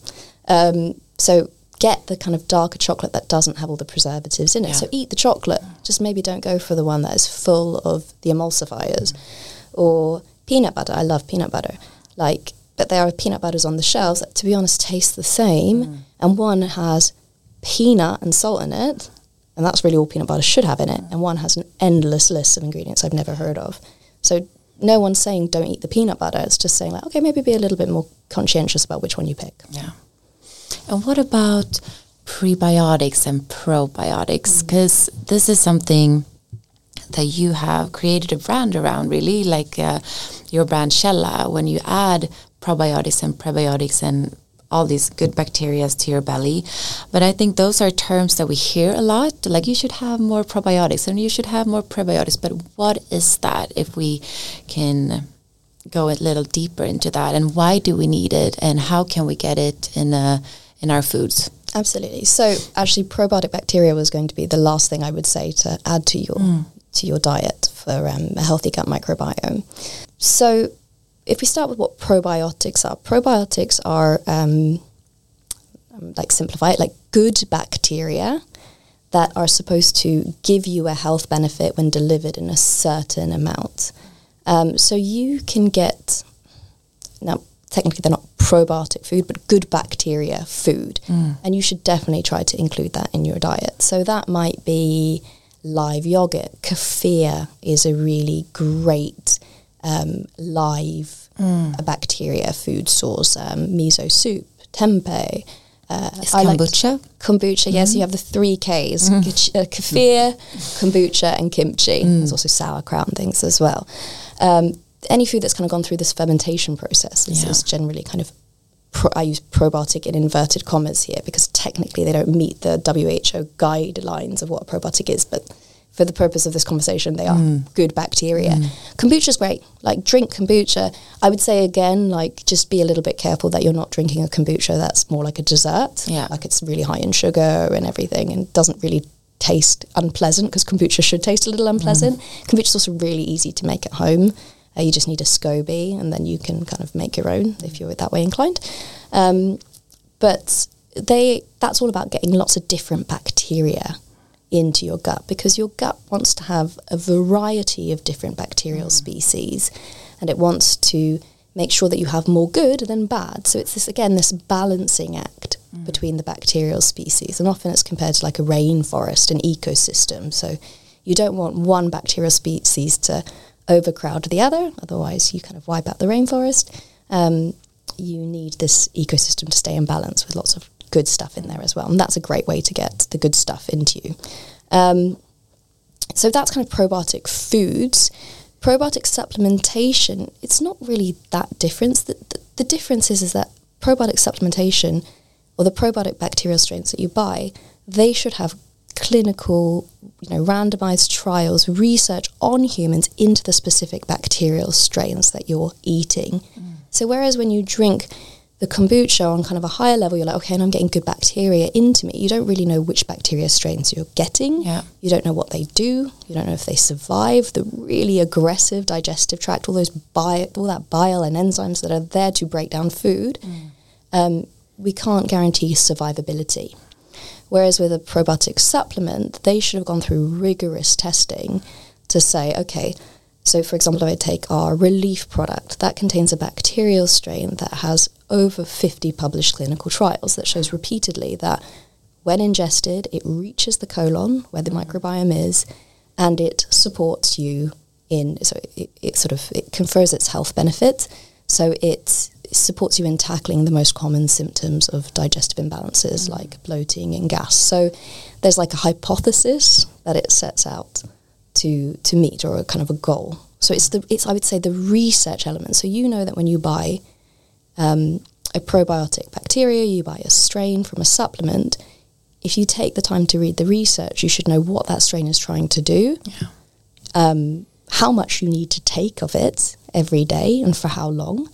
So get the kind of darker chocolate that doesn't have all the preservatives in it. So eat the chocolate, just maybe don't go for the one that is full of the emulsifiers. Or peanut butter. I love peanut butter. But there are peanut butters on the shelves that, to be honest, taste the same. And one has peanut and salt in it, and that's really all peanut butter should have in it. And one has an endless list of ingredients I've never heard of. So no one's saying don't eat the peanut butter. It's just saying like, okay, maybe be a little bit more conscientious about which one you pick. Yeah. And what about prebiotics and probiotics? Because this is something that you have created a brand around, really, like your brand Källa. When you add probiotics and prebiotics and all these good bacteria to your belly. But I think those are terms that we hear a lot, like you should have more probiotics and you should have more prebiotics. But what is that, if we can go a little deeper into that, and why do we need it, and how can we get it in our foods? Absolutely. So actually probiotic bacteria was going to be the last thing I would say to add to your diet for a healthy gut microbiome. So if we start with what probiotics are like simplify it, like good bacteria that are supposed to give you a health benefit when delivered in a certain amount. So you can get, now technically they're not probiotic food, but good bacteria food. And you should definitely try to include that in your diet. So that might be live yogurt. Kefir is a really great live bacteria food source. Miso soup, tempeh. Kombucha? Kombucha, yes. You have the 3 Ks. Kefir, kombucha, and kimchi. There's also sauerkraut and things as well. Any food that's kind of gone through this fermentation process is generally kind of, I use probiotic in inverted commas here because technically they don't meet the WHO guidelines of what a probiotic is, but for the purpose of this conversation, they are good bacteria. Kombucha's great. Like, drink kombucha. I would say, again, like, just be a little bit careful that you're not drinking a kombucha that's more like a dessert. Yeah. Like, it's really high in sugar and everything and doesn't really taste unpleasant, because kombucha should taste a little unpleasant. Kombucha's also really easy to make at home. You just need a SCOBY, and then you can kind of make your own if you're that way inclined. But that's all about getting lots of different bacteria into your gut, because your gut wants to have a variety of different bacterial species, and it wants to make sure that you have more good than bad. So it's this balancing act between the bacterial species, and often it's compared to like a rainforest, an ecosystem. So you don't want one bacterial species to overcrowd the other, otherwise you kind of wipe out the rainforest. You need this ecosystem to stay in balance with lots of good stuff in there as well, and that's a great way to get the good stuff into you. So that's kind of probiotic foods. Probiotic supplementation, it's not really that different. The difference is that probiotic supplementation, or the probiotic bacterial strains that you buy, they should have clinical, randomized trials, research on humans into the specific bacterial strains that you're eating. So whereas when you drink the kombucha on kind of a higher level, you're like, okay, and I'm getting good bacteria into me. You don't really know which bacteria strains you're getting. Yeah. You don't know what they do. You don't know if they survive the really aggressive digestive tract, all that bile and enzymes that are there to break down food. We can't guarantee survivability. Whereas with a probiotic supplement, they should have gone through rigorous testing to say, okay, so for example, if I take our Relief product, that contains a bacterial strain that has over 50 published clinical trials that shows repeatedly that when ingested, it reaches the colon where the microbiome is, and it supports you it confers its health benefits. So it supports you in tackling the most common symptoms of digestive imbalances like bloating and gas. So there's like a hypothesis that it sets out to meet, or a kind of a goal. So it's I would say the research element. So you know that when you buy a probiotic bacteria, you buy a strain from a supplement, if you take the time to read the research, you should know what that strain is trying to do, how much you need to take of it every day and for how long,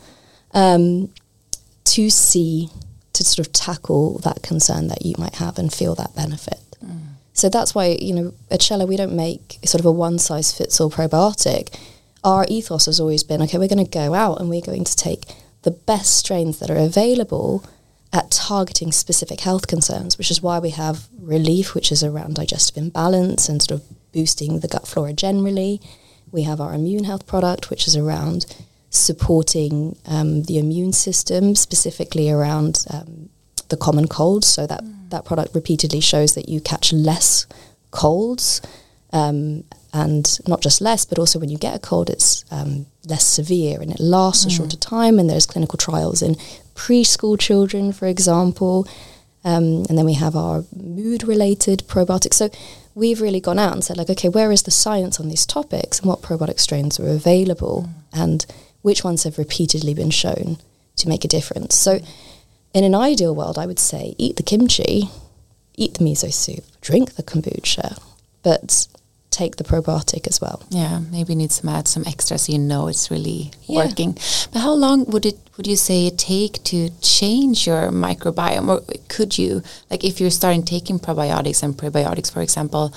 to sort of tackle that concern that you might have and feel that benefit. So that's why, at Shella, we don't make sort of a one-size-fits-all probiotic. Our ethos has always been, okay, we're going to go out and we're going to take the best strains that are available at targeting specific health concerns, which is why we have Relief, which is around digestive imbalance and sort of boosting the gut flora generally. We have our Immune Health product, which is around supporting the immune system, specifically around the common cold. So that product repeatedly shows that you catch less colds, and not just less, but also when you get a cold, it's less severe and it lasts a shorter time. And there's clinical trials in preschool children, for example. And then we have our mood-related probiotics. So we've really gone out and said, like, okay, where is the science on these topics, and what probiotic strains are available, and which ones have repeatedly been shown to make a difference. So in an ideal world, I would say eat the kimchi, eat the miso soup, drink the kombucha, but take the probiotic as well. Yeah, maybe need add some extra so it's really working. But how long would you say it take to change your microbiome? Or could you, like if you're starting taking probiotics and prebiotics, for example,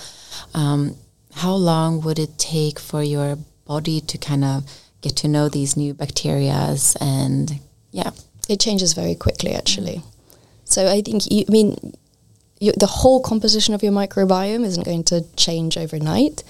how long would it take for your body to kind of get to know these new bacterias? And it changes very quickly, actually. So I think, the whole composition of your microbiome isn't going to change overnight,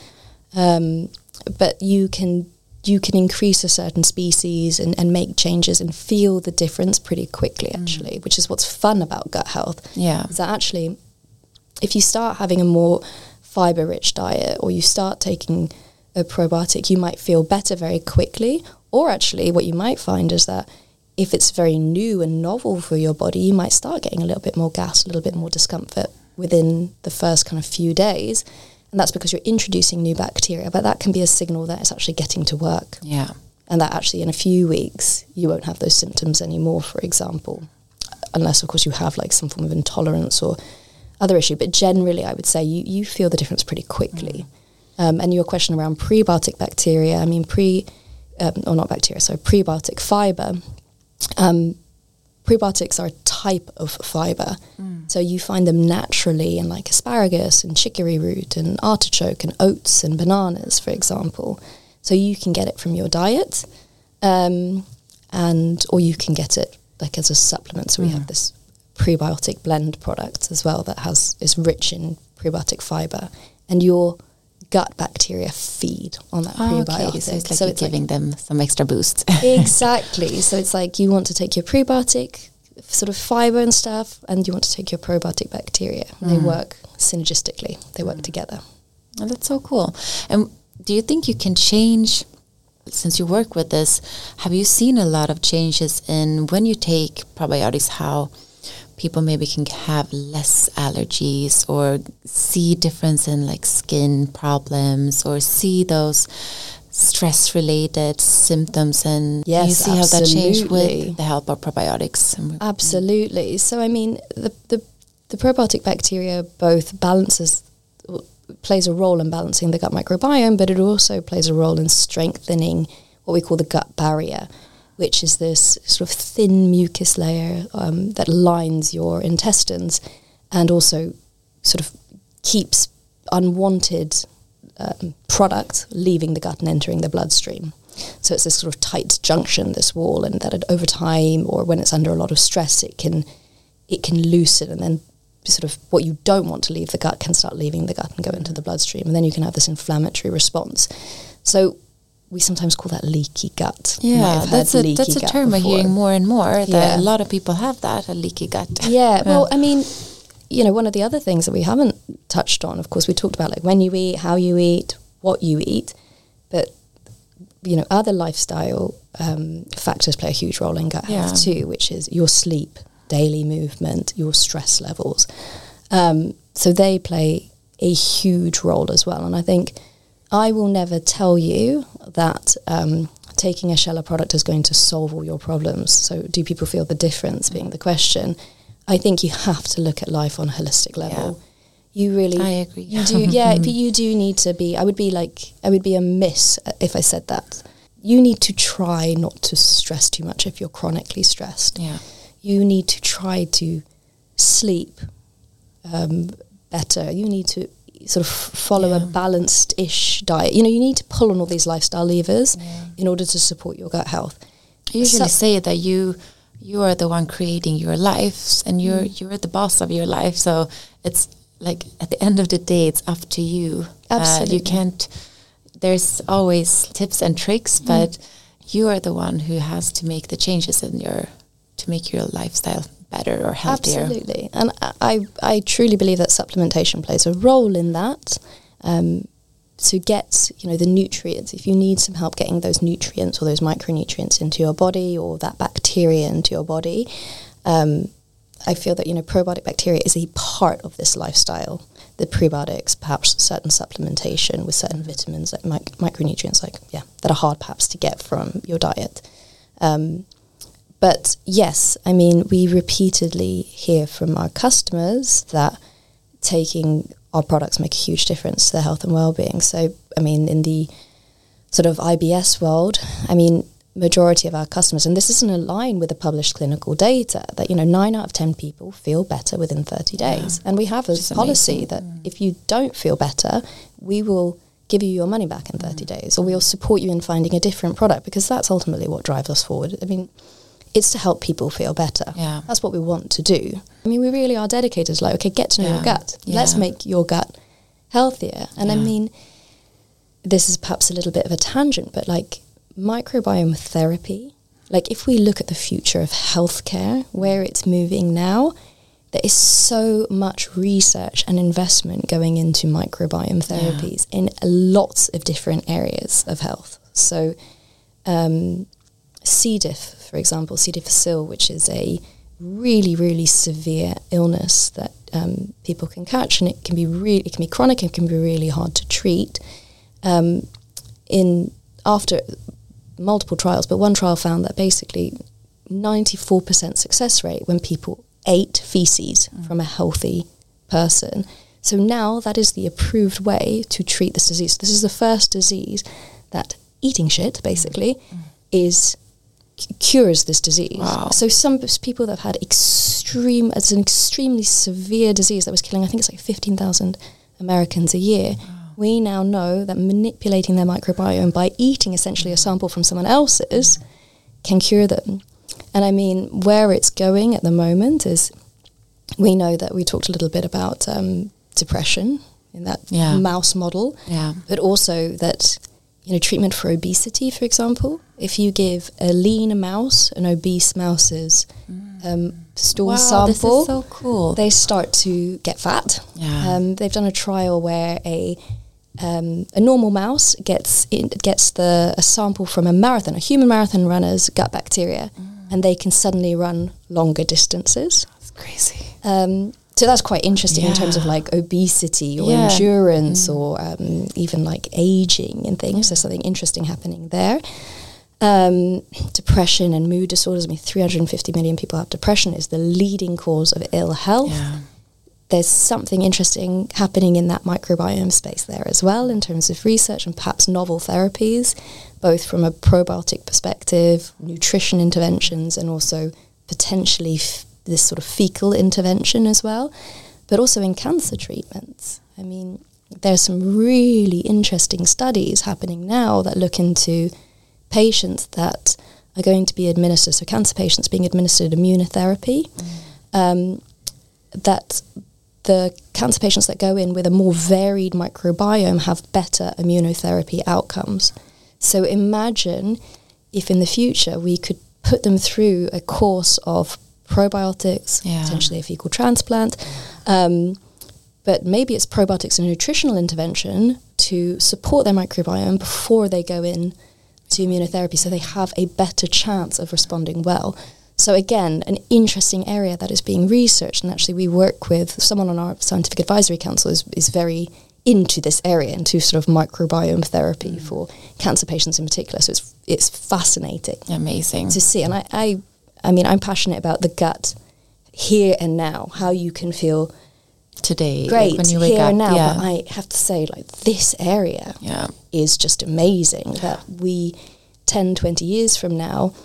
but you can increase a certain species and make changes and feel the difference pretty quickly, actually, which is what's fun about gut health. Yeah. Is that actually, if you start having a more fiber-rich diet, or you start taking a probiotic, you might feel better very quickly. Or actually what you might find is that if it's very new and novel for your body, you might start getting a little bit more gas, a little bit more discomfort within the first kind of few days. And that's because you're introducing new bacteria. But that can be a signal that it's actually getting to work. Yeah. And that actually in a few weeks, you won't have those symptoms anymore, for example. Unless, of course, you have like some form of intolerance or other issue. But generally, I would say you feel the difference pretty quickly. And your question around prebiotic bacteria, prebiotic fiber. Prebiotics are a type of fiber. So you find them naturally in like asparagus and chicory root and artichoke and oats and bananas, for example. So you can get it from your diet, or you can get it like as a supplement. So we have this prebiotic blend product as well that is rich in prebiotic fiber, and your gut bacteria feed on that prebiotic. Okay, so it's like you're giving them some extra boost. Exactly. So it's like you want to take your prebiotic sort of fiber and stuff, and you want to take your probiotic bacteria. They work synergistically. They work together. Oh, that's so cool. And do you think you can change, since you work with this, have you seen a lot of changes in when you take probiotics, how people maybe can have less allergies or see difference in like skin problems or see those stress related symptoms, and yes, you see how that changed with the help of probiotics? Absolutely. So I mean the probiotic bacteria both plays a role in balancing the gut microbiome, but it also plays a role in strengthening what we call the gut barrier, which is this sort of thin mucus layer that lines your intestines and also sort of keeps unwanted product leaving the gut and entering the bloodstream. So it's this sort of tight junction, this wall, and that over time, or when it's under a lot of stress, it can loosen, and then sort of what you don't want to leave the gut can start leaving the gut and go into the bloodstream, and then you can have this inflammatory response. So we sometimes call that leaky gut. Yeah, that's a term we're hearing more and more, that a lot of people have that, a leaky gut. Yeah, well, I mean, you know, one of the other things that we haven't touched on, of course, we talked about like when you eat, how you eat, what you eat, but, you know, other lifestyle factors play a huge role in gut health too, which is your sleep, daily movement, your stress levels. So they play a huge role as well. And I think I will never tell you that taking a Shella product is going to solve all your problems. So do people feel the difference being the question? I think you have to look at life on a holistic level. Yeah. You really... I agree. You do, yeah, but you do need to be... I would be amiss if I said that. You need to try not to stress too much if you're chronically stressed. Yeah. You need to try to sleep better. You need to sort of follow a balanced-ish diet. You know, you need to pull on all these lifestyle levers in order to support your gut health. I usually say that you are the one creating your life, and you're the boss of your life. So it's like at the end of the day, it's up to you. Absolutely. You can't. There's always tips and tricks, but you are the one who has to make the changes to make your lifestyle better or healthier. Absolutely. And I truly believe that supplementation plays a role in that. To get, you know, the nutrients, if you need some help getting those nutrients or those micronutrients into your body, or that bacteria into your body, I feel that, you know, probiotic bacteria is a part of this lifestyle. The prebiotics, perhaps certain supplementation with certain vitamins, like micronutrients, that are hard perhaps to get from your diet. But yes, I mean, we repeatedly hear from our customers that taking our products make a huge difference to their health and well-being. So, I mean, in the sort of IBS world, I mean, majority of our customers, and this is in line with the published clinical data, that, you know, 9 out of 10 people feel better within 30 days. And we have a policy that if you don't feel better, we will give you your money back in 30 days, or we'll support you in finding a different product, because that's ultimately what drives us forward. I mean, it's to help people feel better. Yeah. That's what we want to do. I mean, we really are dedicated to, like, okay, get to know your gut. Yeah. Let's make your gut healthier. And I mean, this is perhaps a little bit of a tangent, but like microbiome therapy, like if we look at the future of healthcare, where it's moving now, there is so much research and investment going into microbiome therapies in lots of different areas of health. So C. diff, for example, C. difficile, which is a really, really severe illness that people can catch, and it can be chronic, it can be really hard to treat. After multiple trials, but one trial found that basically 94% success rate when people ate feces from a healthy person. So now that is the approved way to treat this disease. This is the first disease that eating shit, basically, cures this disease. Wow. So some people that have had it's an extremely severe disease that was killing, I think it's like 15,000 Americans a year. Wow. We now know that manipulating their microbiome by eating essentially a sample from someone else's can cure them. And I mean, where it's going at the moment is we know that we talked a little bit about depression in that mouse model, but also that, treatment for obesity, for example, if you give a lean mouse an obese mouse's stool sample, this is so cool. They start to get fat. They've done a trial where a normal mouse gets a sample from a human marathon runner's gut bacteria, and they can suddenly run longer distances. That's crazy. So that's quite interesting in terms of like obesity or endurance or even like aging and things. There's something interesting happening there. Depression and mood disorders. 350 million people have depression. Is the leading cause of ill health. There's something interesting happening in that microbiome space there as well in terms of research and perhaps novel therapies, both from a probiotic perspective, nutrition interventions, and also potentially this sort of fecal intervention as well, but also in cancer treatments. There's some really interesting studies happening now that look into patients that are going to be administered, so cancer patients being administered immunotherapy, that the cancer patients that go in with a more varied microbiome have better immunotherapy outcomes. So imagine if in the future we could put them through a course of probiotics, potentially a fecal transplant, but maybe it's probiotics and nutritional intervention to support their microbiome before they go in to immunotherapy, so they have a better chance of responding well. So again, an interesting area that is being researched, and actually we work with someone on our scientific advisory council is very into this area, into sort of microbiome therapy for cancer patients in particular. So it's fascinating. Amazing. To see. And I'm passionate about the gut here and now, how you can feel today, great when you wake here up. And now. But I have to say, like, this area is just amazing that we 10, 20 years from now,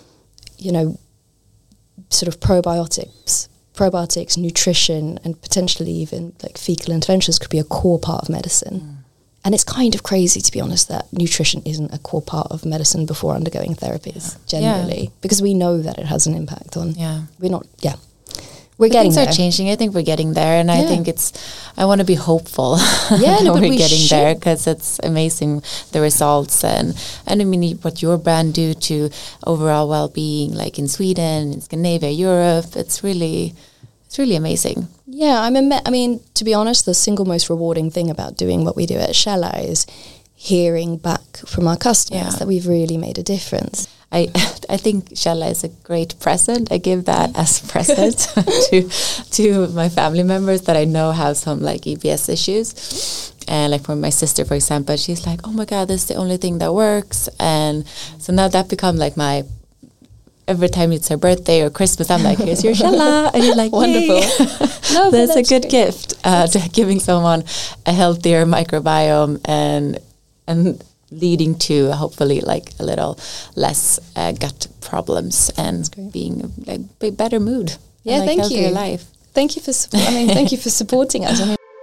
sort of probiotics, nutrition, and potentially even like fecal interventions could be a core part of medicine. And it's kind of crazy, to be honest, that nutrition isn't a core part of medicine before undergoing therapies, generally, because we know that it has an impact on. We're getting there. Things are changing. I think we're getting there, and I think I want to be hopeful. But we're getting there, because it's amazing, the results, and what your brand do to overall well-being, like in Sweden, in Scandinavia, Europe. It's really amazing. Yeah, to be honest, the single most rewarding thing about doing what we do at Källa is hearing back from our customers that we've really made a difference. I think Källa is a great present. I give that as a present to my family members that I know have some like EPS issues. And like for my sister, for example, she's like, oh my God, this is the only thing that works. And so now that become like every time it's her birthday or Christmas, I'm like, here's your Källa. And you're like, wonderful. No, that's a good gift to giving someone a healthier microbiome and leading to hopefully like a little less gut problems and being like a better mood. Yeah, and, like, thank you. Life. Thank you for thank you for supporting us.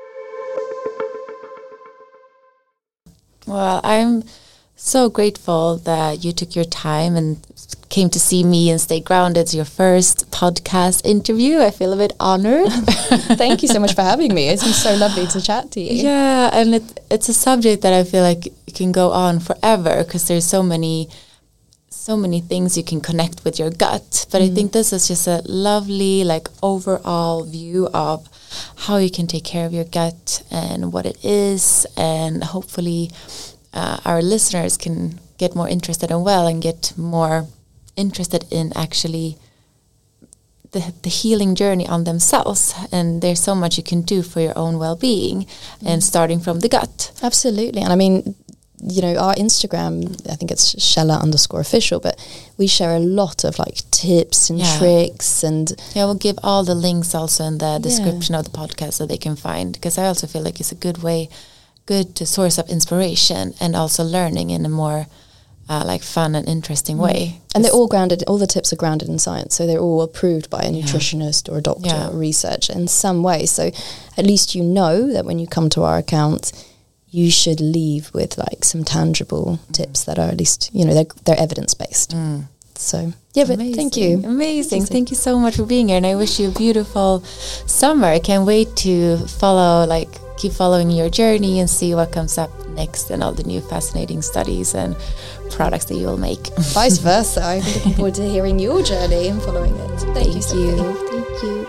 Well, I'm so grateful that you took your time and came to see me and Stay Grounded. It's your first podcast interview. I feel a bit honored. Thank you so much for having me. It's been so lovely to chat to you. Yeah, and it's a subject that I feel like it can go on forever, because there's so many things you can connect with your gut. But I think this is just a lovely like overall view of how you can take care of your gut and what it is, and hopefully our listeners can get more interested and get more interested in actually the healing journey on themselves. And there's so much you can do for your own well-being, and starting from the gut. Absolutely. And our Instagram, I think it's Källa_official, but we share a lot of like tips and tricks, and we'll give all the links also in the description of the podcast so they can find, because I also feel like it's a good source of inspiration and also learning in a more like fun and interesting way. And they're all grounded, all the tips are grounded in science, so they're all approved by a nutritionist or a doctor or research in some way. So at least you know that when you come to our account, you should leave with like some tangible tips that are at least, they're evidence-based. So Yeah, but thank you. Amazing. Thank you so much for being here. And I wish you a beautiful summer. I can't wait to keep following your journey and see what comes up next and all the new fascinating studies and products that you will make. Vice versa. I'm looking forward to hearing your journey and following it. Thank you. Thank you.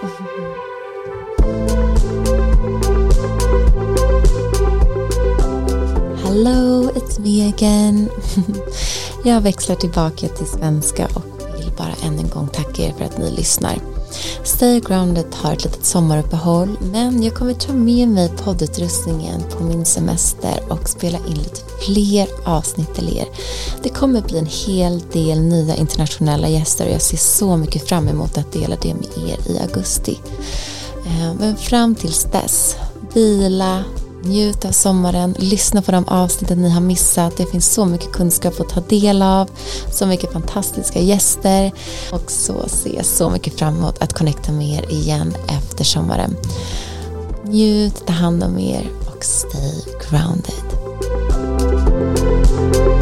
Hello, it's me again. Jag växlar tillbaka till svenska och vill bara än en gång tacka er för att ni lyssnar. Stay Grounded har ett litet sommaruppehåll, men jag kommer ta med mig poddutrustningen på min semester och spela in lite fler avsnitt till er. Det kommer bli en hel del nya internationella gäster och jag ser så mycket fram emot att dela det med er i augusti. Men fram tills dess, vila, njut av sommaren, lyssna på de avsnitten ni har missat. Det finns så mycket kunskap att ta del av, så mycket fantastiska gäster och så ser jag så mycket fram emot att connecta med er igen efter sommaren. Njut, ta hand om er och stay grounded.